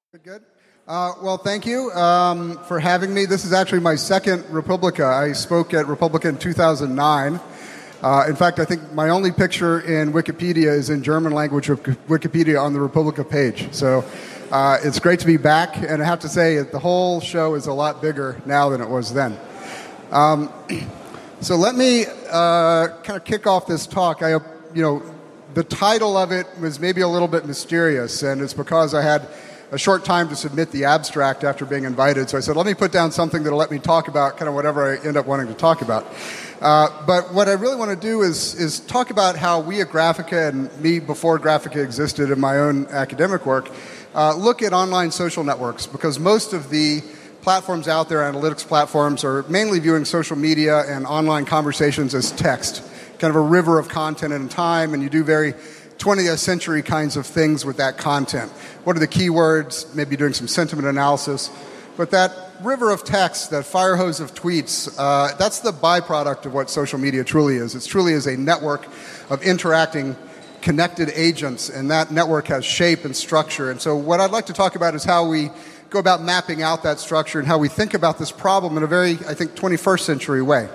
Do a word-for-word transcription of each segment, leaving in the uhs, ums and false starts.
Good. Uh, well, thank you um, for having me. This is actually my second Republica. I spoke at Republica in two thousand nine. Uh, in fact, I think my only picture in Wikipedia is in German language Wikipedia on the Republica page. So uh, it's great to be back, and I have to say the whole show is a lot bigger now than it was then. Um, so let me uh, kind of kick off this talk. I, you know, the title of it was maybe a little bit mysterious, and it's because I had a short time to submit the abstract after being invited. So I said, let me put down something that'll let me talk about kind of whatever I end up wanting to talk about. Uh, but what I really want to do is is talk about how we at Graphica, and me before Graphica existed in my own academic work, uh, look at online social networks, because most of the platforms out there, analytics platforms, are mainly viewing social media and online conversations as text, kind of a river of content and time, and you do very twentieth century kinds of things with that content. What are the keywords? Maybe doing some sentiment analysis. But that river of text, that fire hose of tweets, uh, that's the byproduct of what social media truly is. It truly is a network of interacting, connected agents, and that network has shape and structure. And so what I'd like to talk about is how we go about mapping out that structure and how we think about this problem in a very, I think, twenty-first century way.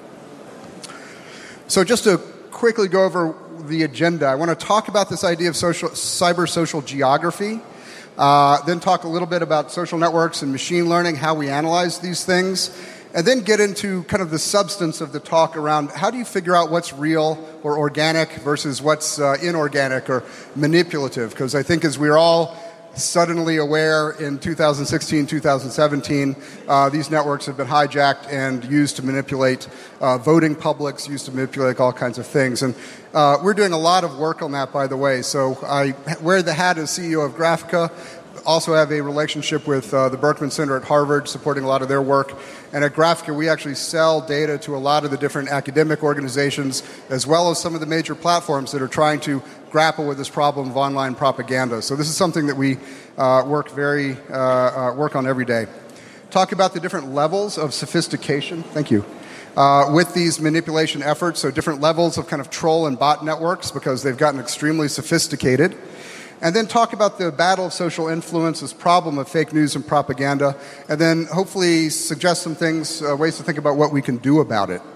So just to quickly go over the agenda, I want to talk about this idea of social, cyber social geography, uh, then talk a little bit about social networks and machine learning, how we analyze these things, and then get into kind of the substance of the talk around how do you figure out what's real or organic versus what's uh, inorganic or manipulative, because I think as we're all suddenly aware in two thousand sixteen, two thousand seventeen, uh, these networks have been hijacked and used to manipulate uh, voting publics, used to manipulate all kinds of things. And uh, we're doing a lot of work on that, by the way. So I wear the hat as C E O of Graphica, also have a relationship with uh, the Berkman Center at Harvard, supporting a lot of their work. And at Graphica, we actually sell data to a lot of the different academic organizations, as well as some of the major platforms that are trying to grapple with this problem of online propaganda. So this is something that we uh, work very uh, uh, work on every day. Talk about the different levels of sophistication. Thank you. Uh, with these manipulation efforts, so different levels of kind of troll and bot networks, because they've gotten extremely sophisticated. And then talk about the battle of social influence, this problem of fake news and propaganda, and then hopefully suggest some things, uh, ways to think about what we can do about it.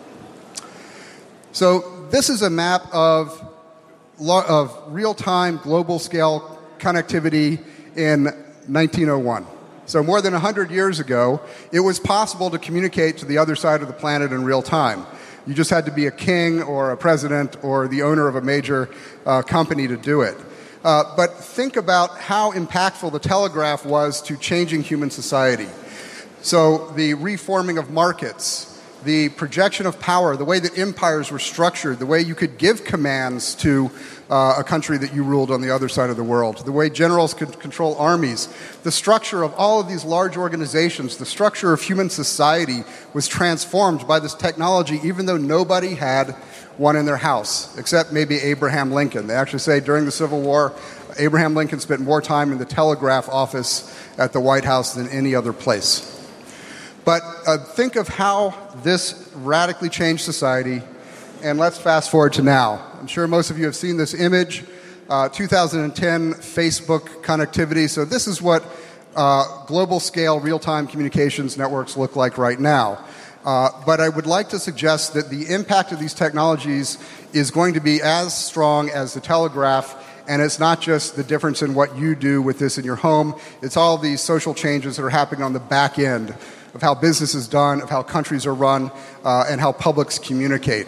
So this is a map of of real-time, global-scale connectivity in nineteen oh one. So more than one hundred years ago, it was possible to communicate to the other side of the planet in real time. You just had to be a king or a president or the owner of a major uh, company to do it. Uh, but think about how impactful the telegraph was to changing human society. So the reforming of markets, the projection of power, the way that empires were structured, the way you could give commands to uh, a country that you ruled on the other side of the world, the way generals could control armies, the structure of all of these large organizations, the structure of human society was transformed by this technology, even though nobody had one in their house, except maybe Abraham Lincoln. They actually say during the Civil War, Abraham Lincoln spent more time in the telegraph office at the White House than any other place. But uh, think of how this radically changed society, and let's fast forward to now. I'm sure most of you have seen this image, uh, two thousand ten Facebook connectivity. So this is what uh, global-scale real-time communications networks look like right now. Uh, but I would like to suggest that the impact of these technologies is going to be as strong as the telegraph, and it's not just the difference in what you do with this in your home. It's all these social changes that are happening on the back end of how business is done, of how countries are run, uh, and how publics communicate.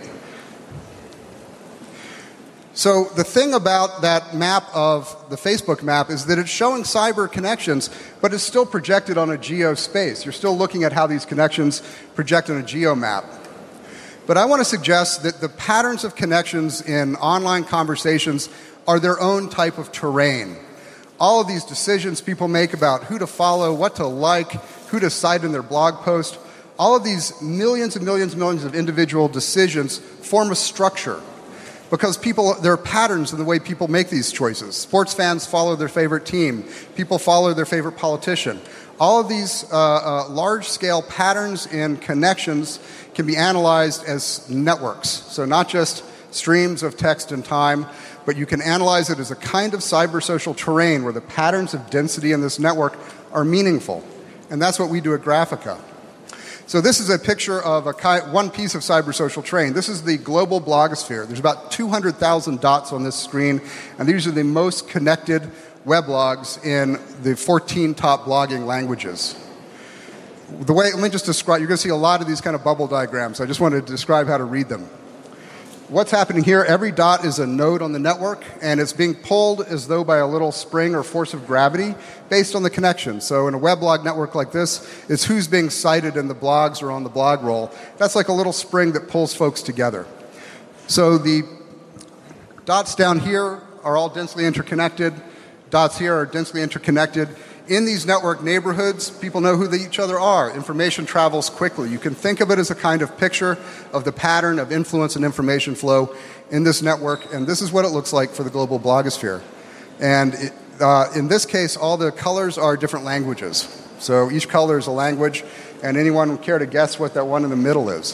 So the thing about that map of the Facebook map is that it's showing cyber connections, but it's still projected on a geo space. You're still looking at how these connections project on a geo map. But I want to suggest that the patterns of connections in online conversations are their own type of terrain. All of these decisions people make about who to follow, what to like, who to cite in their blog post, all of these millions and millions and millions of individual decisions form a structure. Because people, there are patterns in the way people make these choices. Sports fans follow their favorite team. People follow their favorite politician. All of these uh, uh, large-scale patterns and connections can be analyzed as networks. So not just streams of text and time, but you can analyze it as a kind of cybersocial terrain where the patterns of density in this network are meaningful. And that's what we do at Graphika. So this is a picture of a ki- one piece of cybersocial terrain. This is the global blogosphere. There's about two hundred thousand dots on this screen, and these are the most connected weblogs in the fourteen top blogging languages. The way, let me just describe, you're going to see a lot of these kind of bubble diagrams. I just wanted to describe how to read them. What's happening here, every dot is a node on the network, and it's being pulled as though by a little spring or force of gravity based on the connection. So in a weblog network like this, it's who's being cited in the blogs or on the blog roll. That's like a little spring that pulls folks together. So the dots down here are all densely interconnected. Dots here are densely interconnected. In these network neighborhoods, people know who they, each other are. Information travels quickly. You can think of it as a kind of picture of the pattern of influence and information flow in this network, and this is what it looks like for the global blogosphere. And it, uh, in this case, all the colors are different languages. So each color is a language, and anyone would care to guess what that one in the middle is?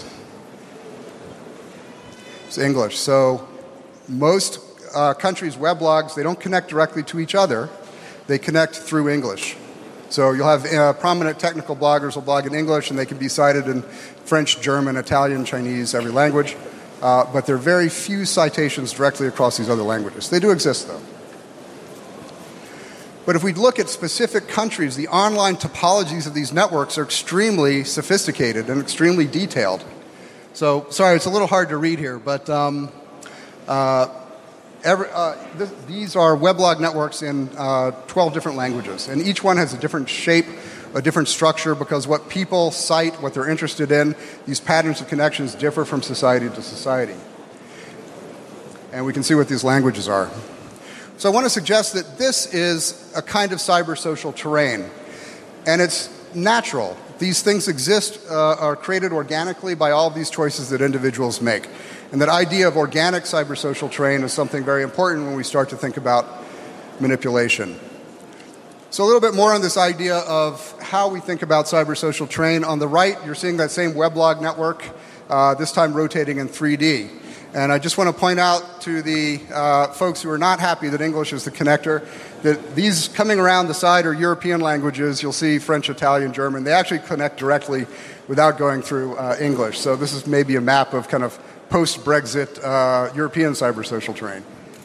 It's English. So most uh, countries' weblogs, they don't connect directly to each other. They connect through English. So you'll have uh, prominent technical bloggers will blog in English, and they can be cited in French, German, Italian, Chinese, every language. Uh, but there are very few citations directly across these other languages. They do exist, though. But if we look at specific countries, the online topologies of these networks are extremely sophisticated and extremely detailed. So, sorry, it's a little hard to read here, but um, uh, Every, uh, th- these are weblog networks in uh, twelve different languages, and each one has a different shape, a different structure, because what people cite, what they're interested in, these patterns of connections differ from society to society. And we can see what these languages are. So I want to suggest that this is a kind of cybersocial terrain, and it's natural. These things exist, uh, are created organically by all of these choices that individuals make. And that idea of organic cybersocial terrain is something very important when we start to think about manipulation. So a little bit more on this idea of how we think about cybersocial terrain. On the right, you're seeing that same weblog network, uh, this time rotating in three D. And I just want to point out to the uh, folks who are not happy that English is the connector, that these coming around the side are European languages. You'll see French, Italian, German. They actually connect directly without going through uh, English. So this is maybe a map of kind of post-Brexit uh, European cybersocial terrain.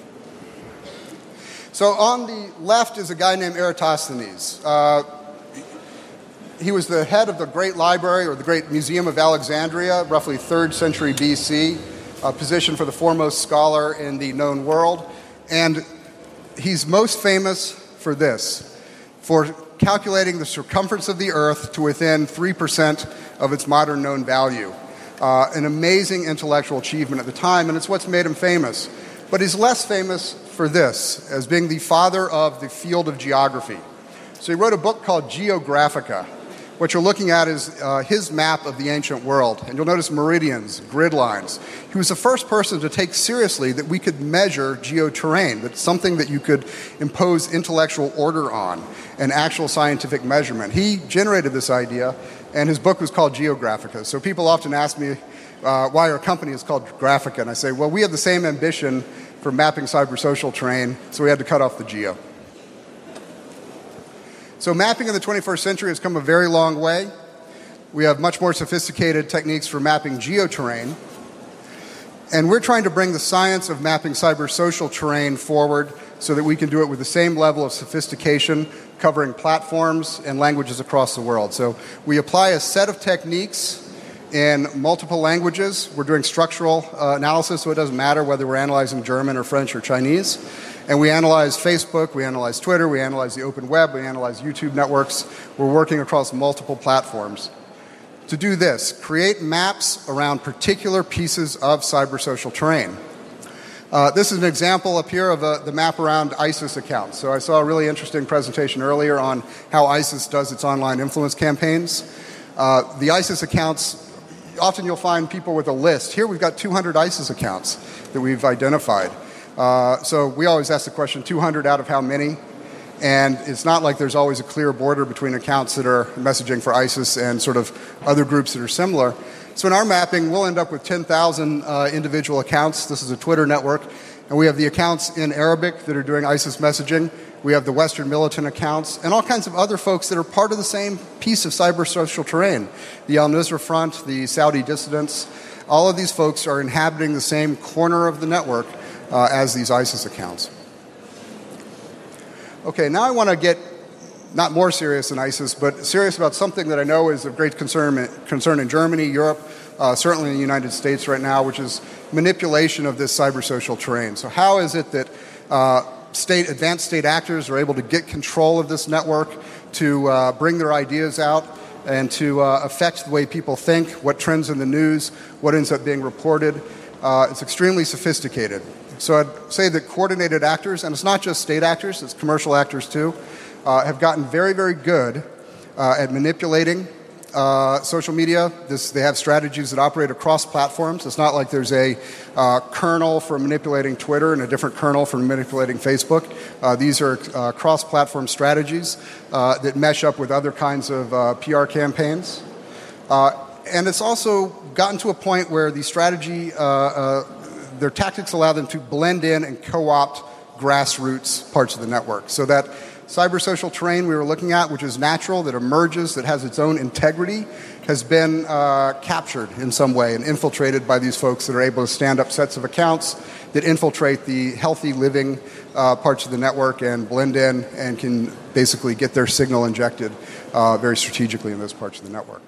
So on the left is a guy named Eratosthenes. Uh, he was the head of the Great Library, or the Great Museum of Alexandria, roughly third century B C, a position for the foremost scholar in the known world. And he's most famous for this, for calculating the circumference of the Earth to within three percent of its modern known value. Uh, an amazing intellectual achievement at the time, and it's what's made him famous. But he's less famous for this, as being the father of the field of geography. So he wrote a book called Geographica. What you're looking at is uh, his map of the ancient world. And you'll notice meridians, grid lines. He was the first person to take seriously that we could measure geoterrain, that's something that you could impose intellectual order on, an actual scientific measurement. He generated this idea, and his book was called Geographica. So people often ask me uh, why our company is called Graphika, and I say, well, we have the same ambition for mapping cybersocial terrain, so we had to cut off the geo. So mapping in the twenty-first century has come a very long way. We have much more sophisticated techniques for mapping geoterrain. And we're trying to bring the science of mapping cybersocial terrain forward so that we can do it with the same level of sophistication, covering platforms and languages across the world. So we apply a set of techniques in multiple languages. We're doing structural uh, analysis, so it doesn't matter whether we're analyzing German or French or Chinese. And we analyze Facebook, we analyze Twitter, we analyze the open web, we analyze YouTube networks. We're working across multiple platforms. To do this, create maps around particular pieces of cybersocial terrain. Uh, this is an example up here of a, the map around ISIS accounts. So I saw a really interesting presentation earlier on how ISIS does its online influence campaigns. Uh, the ISIS accounts, often you'll find people with a list. Here we've got two hundred ISIS accounts that we've identified. Uh, so we always ask the question, two hundred out of how many? And it's not like there's always a clear border between accounts that are messaging for ISIS and sort of other groups that are similar. So in our mapping, we'll end up with ten thousand uh, individual accounts. This is a Twitter network. And we have the accounts in Arabic that are doing ISIS messaging. We have the Western militant accounts, and all kinds of other folks that are part of the same piece of cyber social terrain. The Al-Nusra Front, the Saudi dissidents, all of these folks are inhabiting the same corner of the network uh, as these ISIS accounts. Okay, now I want to get not more serious than ISIS, but serious about something that I know is of great concern, concern in Germany, Europe, uh, certainly in the United States right now, which is manipulation of this cyber social terrain. So how is it that uh, State, advanced state actors are able to get control of this network, to uh, bring their ideas out, and to uh, affect the way people think, what trends in the news, what ends up being reported. Uh, it's extremely sophisticated. So I'd say that coordinated actors, and it's not just state actors, it's commercial actors too, uh, have gotten very, very good uh, at manipulating Uh, social media. This, they have strategies that operate across platforms. It's not like there's a uh, kernel for manipulating Twitter and a different kernel for manipulating Facebook. Uh, these are uh, cross-platform strategies uh, that mesh up with other kinds of uh, P R campaigns. Uh, and it's also gotten to a point where the strategy, uh, uh, their tactics allow them to blend in and co-opt grassroots parts of the network. So that cyber-social terrain we were looking at, which is natural, that emerges, that has its own integrity, has been uh, captured in some way and infiltrated by these folks that are able to stand up sets of accounts that infiltrate the healthy living uh, parts of the network and blend in and can basically get their signal injected uh, very strategically in those parts of the network.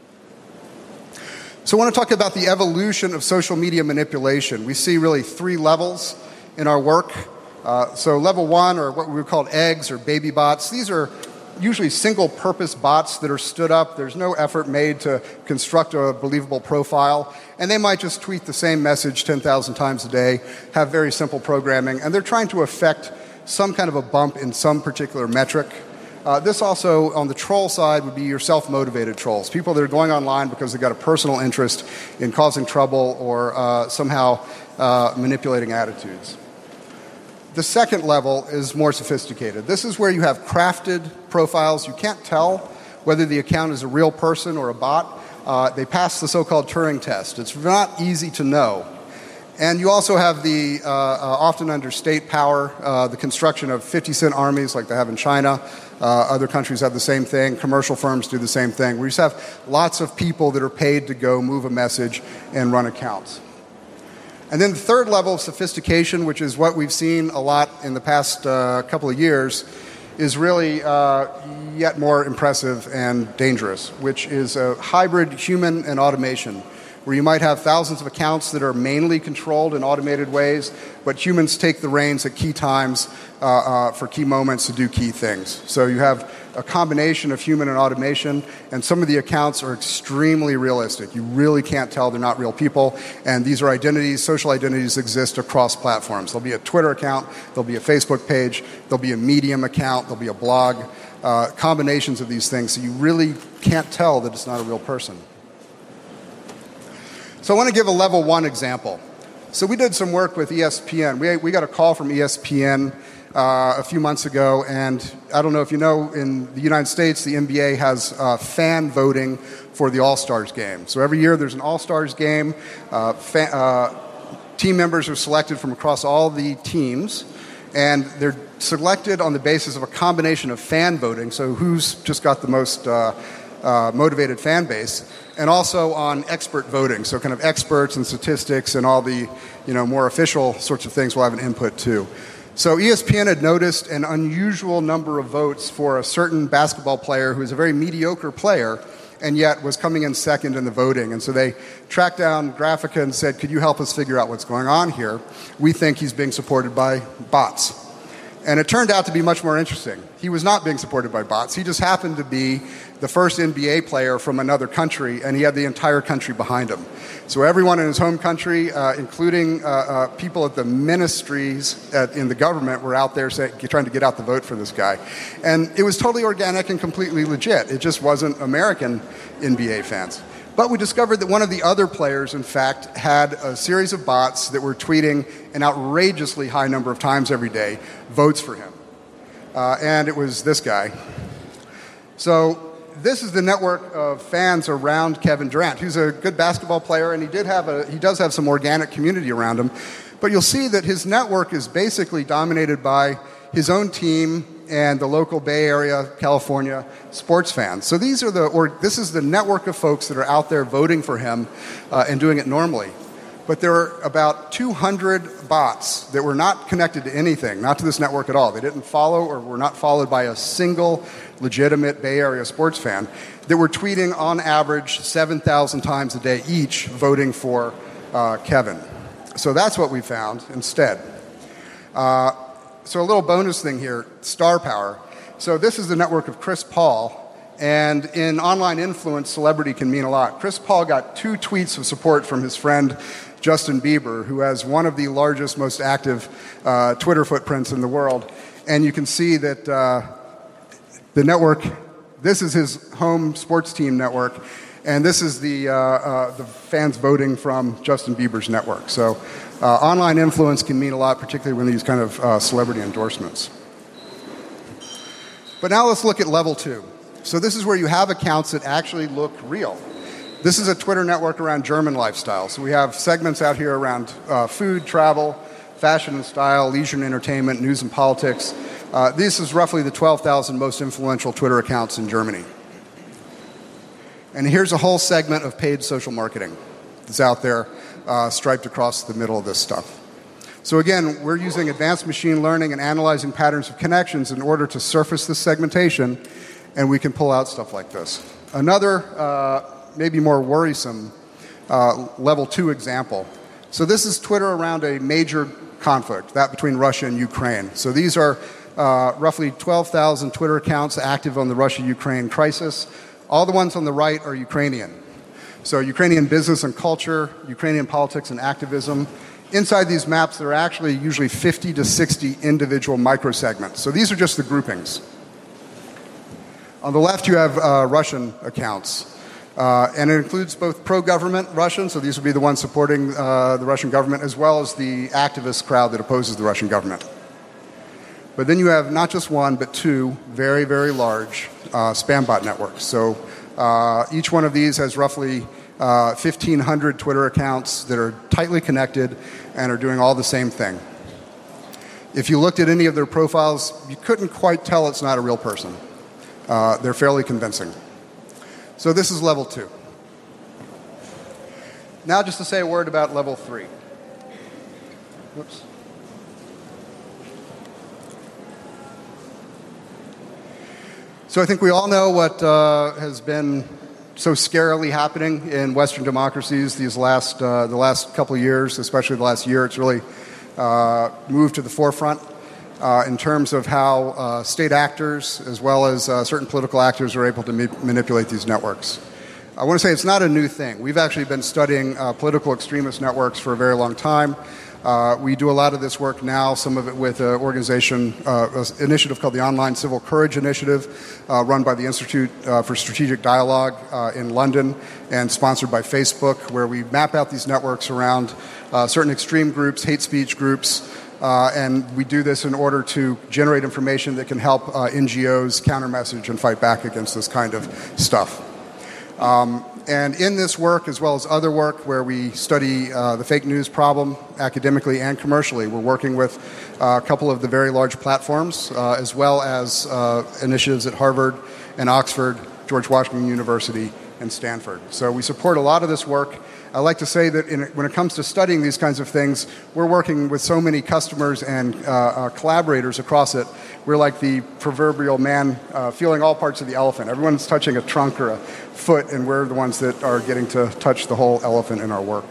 So I want to talk about the evolution of social media manipulation. We see really three levels in our work. Uh, so level one, or what we would call eggs or baby bots, these are usually single-purpose bots that are stood up. There's no effort made to construct a believable profile, and they might just tweet the same message ten thousand times a day, have very simple programming, and they're trying to affect some kind of a bump in some particular metric. Uh, this also, on the troll side, would be your self-motivated trolls, people that are going online because they've got a personal interest in causing trouble or uh, somehow uh, manipulating attitudes. The second level is more sophisticated. This is where you have crafted profiles. You can't tell whether the account is a real person or a bot. Uh, they pass the so-called Turing test. It's not easy to know. And you also have the, uh, uh, often under state power, uh, the construction of fifty-cent armies like they have in China. Uh, other countries have the same thing. Commercial firms do the same thing. We just have lots of people that are paid to go move a message and run accounts. And then the third level of sophistication, which is what we've seen a lot in the past uh, couple of years, is really uh, yet more impressive and dangerous, which is a hybrid human and automation, where you might have thousands of accounts that are mainly controlled in automated ways, but humans take the reins at key times uh, uh, for key moments to do key things. So you have a combination of human and automation, and some of the accounts are extremely realistic. You really can't tell they're not real people, and these are identities, social identities exist across platforms. There'll be a Twitter account, there'll be a Facebook page, there'll be a Medium account, there'll be a blog, uh, combinations of these things, so you really can't tell that it's not a real person. So I want to give a level one example. So we did some work with E S P N. We, we got a call from E S P N uh, a few months ago, and I don't know if you know, in the United States, the N B A has uh, fan voting for the All-Stars game. So every year there's an All-Stars game. Uh, fan, uh, team members are selected from across all the teams, and they're selected on the basis of a combination of fan voting, so who's just got the most uh, uh, motivated fan base, and also on expert voting, so kind of experts and statistics and all the, you know, more official sorts of things will have an input too. So E S P N had noticed an unusual number of votes for a certain basketball player who is a very mediocre player and yet was coming in second in the voting. And so they tracked down Graphica and said, could you help us figure out what's going on here? We think he's being supported by bots. And it turned out to be much more interesting. He was not being supported by bots. He just happened to be the first N B A player from another country, and he had the entire country behind him. So everyone in his home country, uh, including uh, uh, people at the ministries at, in the government, were out there say, trying to get out the vote for this guy. And it was totally organic and completely legit. It just wasn't American N B A fans. But we discovered that one of the other players, in fact, had a series of bots that were tweeting an outrageously high number of times every day votes for him. Uh, and it was this guy. So this is the network of fans around Kevin Durant, who's a good basketball player, and he did have a he does have some organic community around him. But you'll see that his network is basically dominated by his own team and the local Bay Area, California sports fans. So these are the, or this is the network of folks that are out there voting for him uh, and doing it normally. But there are about two hundred bots that were not connected to anything, not to this network at all. They didn't follow or were not followed by a single legitimate Bay Area sports fan that were tweeting on average seven thousand times a day each voting for uh, Kevin. So that's what we found instead. Uh, so a little bonus thing here, star power. So this is the network of Chris Paul. And in online influence, celebrity can mean a lot. Chris Paul got two tweets of support from his friend Justin Bieber, who has one of the largest, most active uh, Twitter footprints in the world. And you can see that uh, the network, this is his home sports team network, and this is the, uh, uh, the fans voting from Justin Bieber's network. So uh, online influence can mean a lot, particularly when these kind of uh, celebrity endorsements. But now let's look at level two. So this is where you have accounts that actually look real. This is a Twitter network around German lifestyle. So we have segments out here around uh, food, travel, fashion and style, leisure and entertainment, news and politics. Uh, this is roughly the twelve thousand most influential Twitter accounts in Germany. And here's a whole segment of paid social marketing that's out there uh, striped across the middle of this stuff. So again, we're using advanced machine learning and analyzing patterns of connections in order to surface this segmentation, and we can pull out stuff like this. Another, uh, maybe more worrisome, uh, level two example. So this is Twitter around a major conflict, that between Russia and Ukraine. So these are uh, roughly twelve thousand Twitter accounts active on the Russia-Ukraine crisis. All the ones on the right are Ukrainian. So Ukrainian business and culture, Ukrainian politics and activism. Inside these maps, there are actually usually fifty to sixty individual microsegments. So these are just the groupings. On the left, you have uh, Russian accounts. Uh, and it includes both pro-government Russians, so these would be the ones supporting uh, the Russian government, as well as the activist crowd that opposes the Russian government. But then you have not just one, but two very, very large uh, spam bot networks. So uh, each one of these has roughly uh, fifteen hundred Twitter accounts that are tightly connected and are doing all the same thing. If you looked at any of their profiles, you couldn't quite tell it's not a real person. Uh, they're fairly convincing. So this is level two. Now just to say a word about level three. Whoops. So I think we all know what uh, has been so scarily happening in Western democracies these last, uh, the last couple of years, especially the last year. It's really uh, moved to the forefront uh, in terms of how uh, state actors as well as uh, certain political actors are able to ma- manipulate these networks. I want to say it's not a new thing. We've actually been studying uh, political extremist networks for a very long time. Uh, we do a lot of this work now, some of it with an organization, uh, an initiative called the Online Civil Courage Initiative, uh, run by the Institute uh, for Strategic Dialogue uh, in London and sponsored by Facebook, where we map out these networks around uh, certain extreme groups, hate speech groups, uh, and we do this in order to generate information that can help uh, N G Os counter-message and fight back against this kind of stuff. Um, And in this work, as well as other work where we study uh, the fake news problem academically and commercially, we're working with uh, a couple of the very large platforms, uh, as well as uh, initiatives at Harvard and Oxford, George Washington University, and Stanford. So we support a lot of this work. I like to say that in, when it comes to studying these kinds of things, we're working with so many customers and uh, uh, collaborators across it. We're like the proverbial man uh, feeling all parts of the elephant. Everyone's touching a trunk or a foot, and we're the ones that are getting to touch the whole elephant in our work.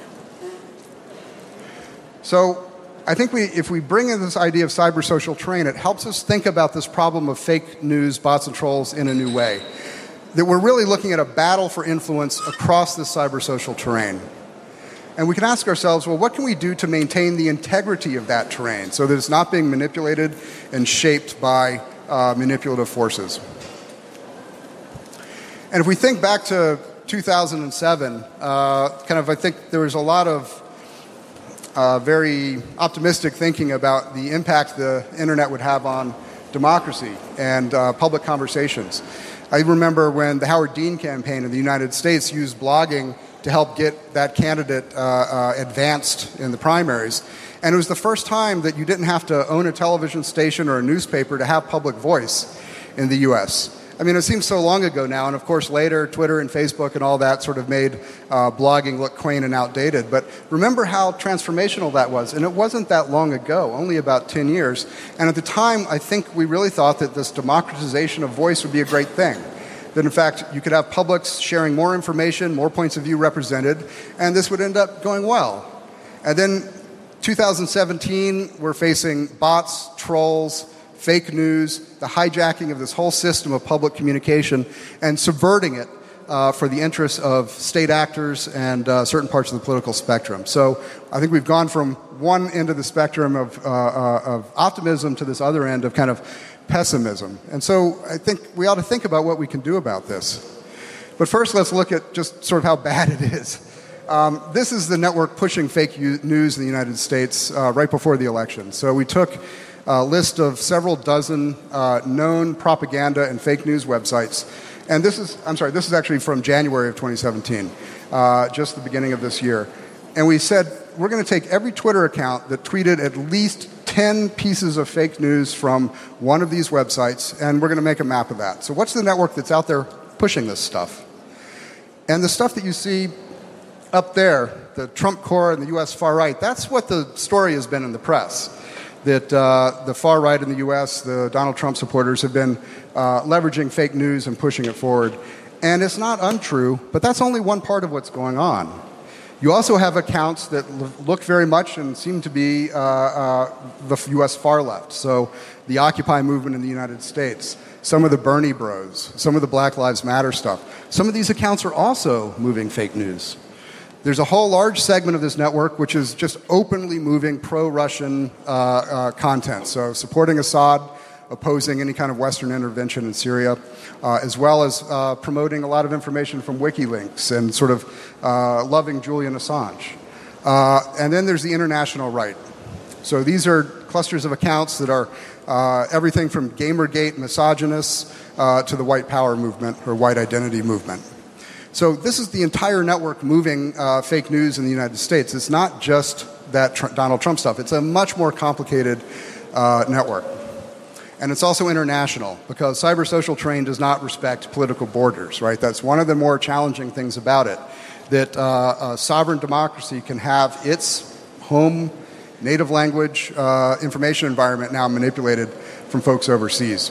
So I think we, if we bring in this idea of cybersocial terrain, it helps us think about this problem of fake news, bots, and trolls in a new way. That we're really looking at a battle for influence across this cybersocial terrain. And we can ask ourselves, well, what can we do to maintain the integrity of that terrain so that it's not being manipulated and shaped by uh, manipulative forces? And if we think back to two thousand seven, uh, kind of, I think there was a lot of uh, very optimistic thinking about the impact the internet would have on democracy and uh, public conversations. I remember when the Howard Dean campaign in the United States used blogging to help get that candidate uh, uh, advanced in the primaries. And it was the first time that you didn't have to own a television station or a newspaper to have public voice in the U S. I mean, it seems so long ago now, and of course later Twitter and Facebook and all that sort of made uh, blogging look quaint and outdated. But remember how transformational that was. And it wasn't that long ago, only about ten years. And at the time, I think we really thought that this democratization of voice would be a great thing. That in fact, you could have publics sharing more information, more points of view represented, and this would end up going well. And then two thousand seventeen, we're facing bots, trolls, fake news, the hijacking of this whole system of public communication and subverting it uh, for the interests of state actors and uh, certain parts of the political spectrum. So I think we've gone from one end of the spectrum of, uh, uh, of optimism to this other end of kind of pessimism. And so I think we ought to think about what we can do about this. But first, let's look at just sort of how bad it is. Um, this is the network pushing fake news in the United States uh, right before the election. So we took a list of several dozen uh, known propaganda and fake news websites. And this is, I'm sorry, this is actually from January of twenty seventeen, uh, just the beginning of this year. And we said, we're going to take every Twitter account that tweeted at least ten pieces of fake news from one of these websites, and we're going to make a map of that. So what's the network that's out there pushing this stuff? And the stuff that you see up there, the Trump core and the U S far right, that's what the story has been in the press. That uh, the far right in the U S, the Donald Trump supporters, have been uh, leveraging fake news and pushing it forward. And it's not untrue, but that's only one part of what's going on. You also have accounts that look very much and seem to be uh, uh, the U S far left. So the Occupy movement in the United States, some of the Bernie bros, some of the Black Lives Matter stuff. Some of these accounts are also moving fake news. There's a whole large segment of this network which is just openly moving pro-Russian uh, uh, content. So supporting Assad, opposing any kind of Western intervention in Syria, uh, as well as uh, promoting a lot of information from WikiLeaks and sort of uh, loving Julian Assange. Uh, and then there's the international right. So these are clusters of accounts that are uh, everything from Gamergate misogynists uh, to the white power movement or white identity movement. So this is the entire network moving uh, fake news in the United States. It's not just that tr- Donald Trump stuff. It's a much more complicated uh, network. And it's also international because cyber social terrain does not respect political borders, right? That's one of the more challenging things about it, that uh, a sovereign democracy can have its home native language uh, information environment now manipulated from folks overseas.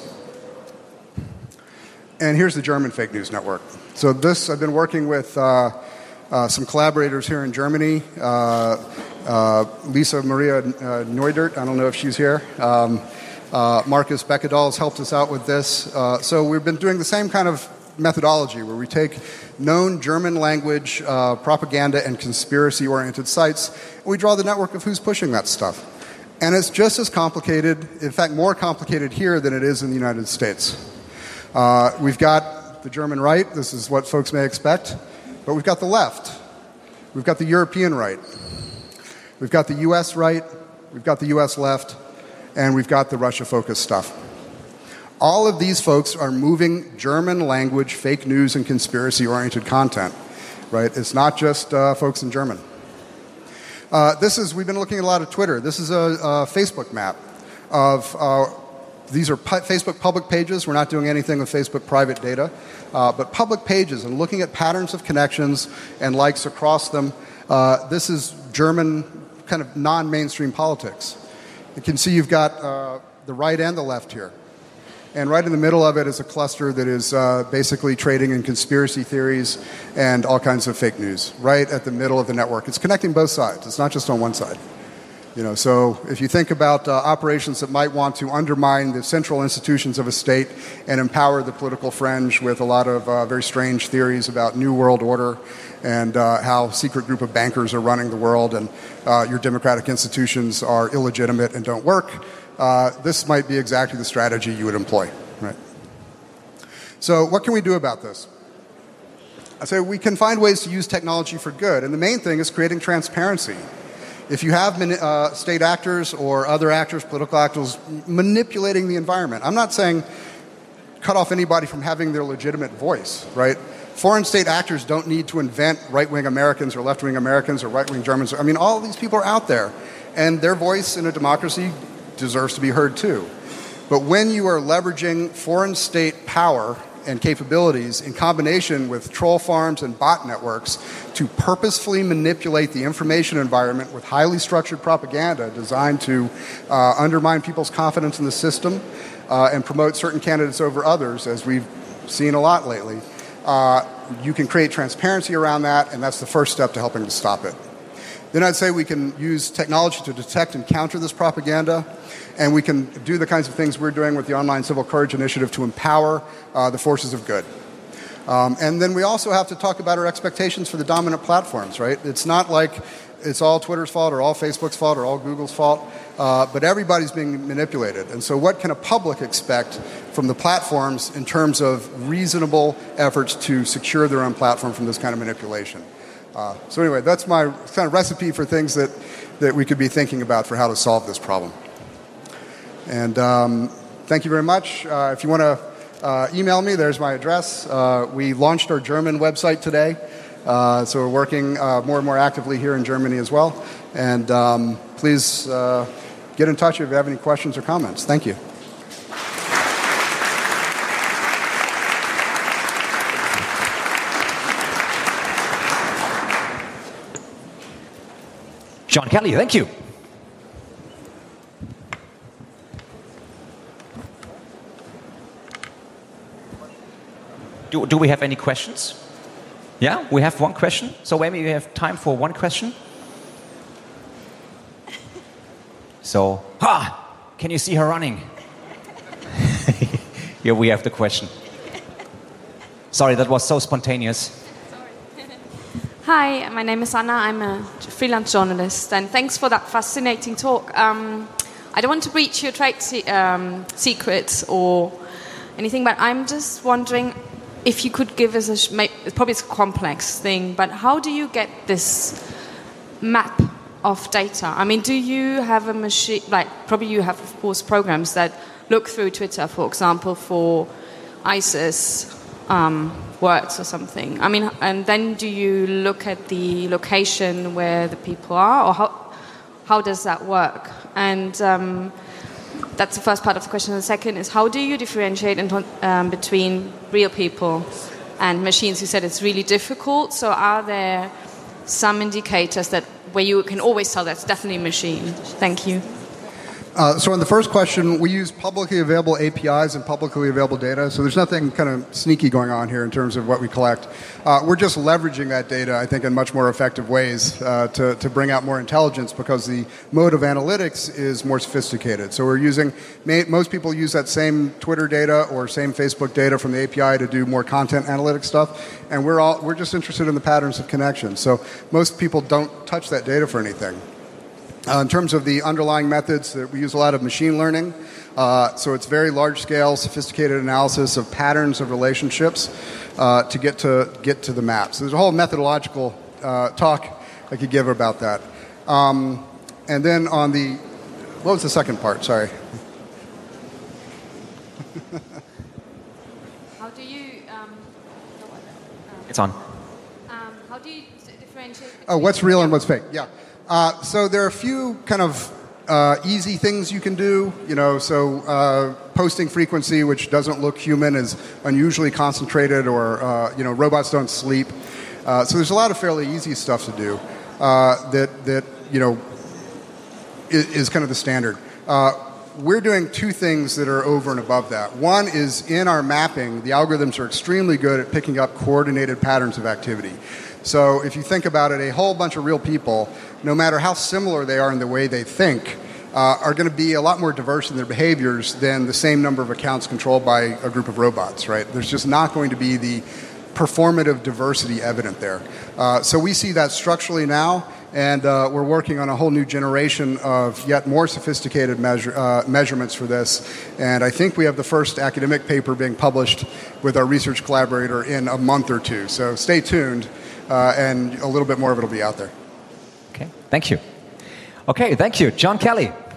And here's the German fake news network. So this, I've been working with uh, uh, some collaborators here in Germany. Uh, uh, Lisa Maria uh, Neudert, I don't know if she's here. Um, uh, Marcus Beckedahl has helped us out with this. Uh, so we've been doing the same kind of methodology where we take known German language uh, propaganda and conspiracy-oriented sites, and we draw the network of who's pushing that stuff. And it's just as complicated, in fact more complicated here than it is in the United States. Uh, we've got the German right, this is what folks may expect, but we've got the left. We've got the European right. We've got the U S right, we've got the U S left, and we've got the Russia-focused stuff. All of these folks are moving German language, fake news, and conspiracy-oriented content, right? It's not just uh, folks in German. Uh, this is, we've been looking at a lot of Twitter. This is a, a Facebook map of uh, These are pu- Facebook public pages. We're not doing anything with Facebook private data, uh, but public pages and looking at patterns of connections and likes across them. Uh, this is German kind of non-mainstream politics. You can see you've got uh, the right and the left here. And right in the middle of it is a cluster that is uh, basically trading in conspiracy theories and all kinds of fake news, right at the middle of the network. It's connecting both sides. It's not just on one side. You know, so if you think about uh, operations that might want to undermine the central institutions of a state and empower the political fringe with a lot of uh, very strange theories about New World Order and uh, how a secret group of bankers are running the world and uh, your democratic institutions are illegitimate and don't work, uh, this might be exactly the strategy you would employ. Right? So what can we do about this? I say we can find ways to use technology for good, and the main thing is creating transparency. If you have uh, state actors or other actors, political actors, manipulating the environment, I'm not saying cut off anybody from having their legitimate voice, right? foreign state actors don't need to invent right-wing Americans or left-wing Americans or right-wing Germans. I mean, all of these people are out there, and their voice in a democracy deserves to be heard too. But when you are leveraging foreign state power and capabilities in combination with troll farms and bot networks to purposefully manipulate the information environment with highly structured propaganda designed to uh, undermine people's confidence in the system uh, and promote certain candidates over others, as we've seen a lot lately, uh, you can create transparency around that, and that's the first step to helping to stop it. Then I'd say we can use technology to detect and counter this propaganda, and we can do the kinds of things we're doing with the Online Civil Courage Initiative to empower uh, the forces of good. Um, and then we also have to talk about our expectations for the dominant platforms, right? It's not like it's all Twitter's fault or all Facebook's fault or all Google's fault, uh, but everybody's being manipulated. And so what can a public expect from the platforms in terms of reasonable efforts to secure their own platform from this kind of manipulation? Uh, so anyway, that's my kind of recipe for things that, that we could be thinking about for how to solve this problem. And um, thank you very much. Uh, if you want to uh, email me, there's my address. Uh, we launched our German website today, uh, so we're working uh, more and more actively here in Germany as well. And um, please uh, get in touch if you have any questions or comments. Thank you. John Kelly, thank you. Do, do we have any questions? Yeah, we have one question. So maybe we have time for one question. So, ha! Can you see her running? Here we have the question. Sorry, that was so spontaneous. Hi, my name is Anna. I'm a freelance journalist, and thanks for that fascinating talk. Um, I don't want to breach your trade se- um, secrets or anything, but I'm just wondering if you could give us a, sh- probably it's a complex thing, but how do you get this map of data? I mean, do you have a machine, like probably you have, of course, programs that look through Twitter, for example, for ISIS um, words or something. I mean, and then do you look at the location where the people are, or how how does that work? And um, that's the first part of the question. The second is, how do you differentiate in, um, between real people and machines? You said it's really difficult. So are there some indicators that where you can always tell that's definitely a machine? Thank you. Uh, so on the first question, we use publicly available A P Is and publicly available data, so there's nothing kind of sneaky going on here in terms of what we collect. Uh, we're just leveraging that data, I think, in much more effective ways uh, to, to bring out more intelligence because the mode of analytics is more sophisticated. So we're using, most people use that same Twitter data or same Facebook data from the A P I to do more content analytics stuff, and we're, all, we're just interested in the patterns of connection. So most people don't touch that data for anything. Uh, in terms of the underlying methods, uh, we use a lot of machine learning. Uh, so it's very large-scale, sophisticated analysis of patterns of relationships uh, to get to get to the map. So there's a whole methodological uh, talk I could give about that. Um, and then on the, what was the second part? Sorry. How do you? Um, it's on. Um, how do you differentiate? Oh, what's real and what's fake? Yeah. Uh, so there are a few kind of uh, easy things you can do. You know, so uh, posting frequency, which doesn't look human, is unusually concentrated, or uh, you know, robots don't sleep. Uh, so there's a lot of fairly easy stuff to do uh, that that you know is, is kind of the standard. Uh, we're doing two things that are over and above that. One is in our mapping, the algorithms are extremely good at picking up coordinated patterns of activity. So if you think about it, a whole bunch of real people, no matter how similar they are in the way they think, uh, are going to be a lot more diverse in their behaviors than the same number of accounts controlled by a group of robots, right? There's just not going to be the performative diversity evident there. Uh, so we see that structurally now, and uh, we're working on a whole new generation of yet more sophisticated measure, uh, measurements for this. And I think we have the first academic paper being published with our research collaborator in a month or two. So stay tuned. Uh, and a little bit more of it will be out there. Okay, thank you. Okay, thank you. John Kelly.